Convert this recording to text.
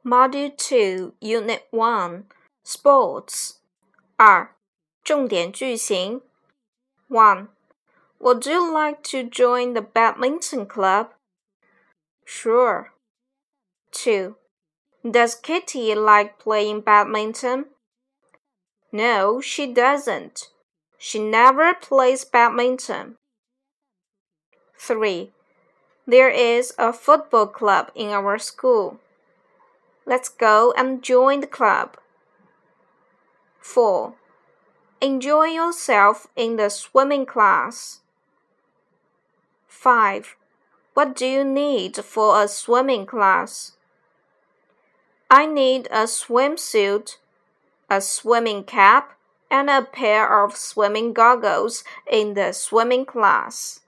Module 2, Unit 1, Sports. 2. 重点句型 1. Would you like to join the badminton club? Sure. 2. Does Kitty like playing badminton? No, she doesn't. She never plays badminton. 3. There is a football club in our school. Let's go and join the club. 4. Enjoy yourself in the swimming class. 5. What do you need for a swimming class? I need a swimsuit, a swimming cap, and a pair of swimming goggles in the swimming class.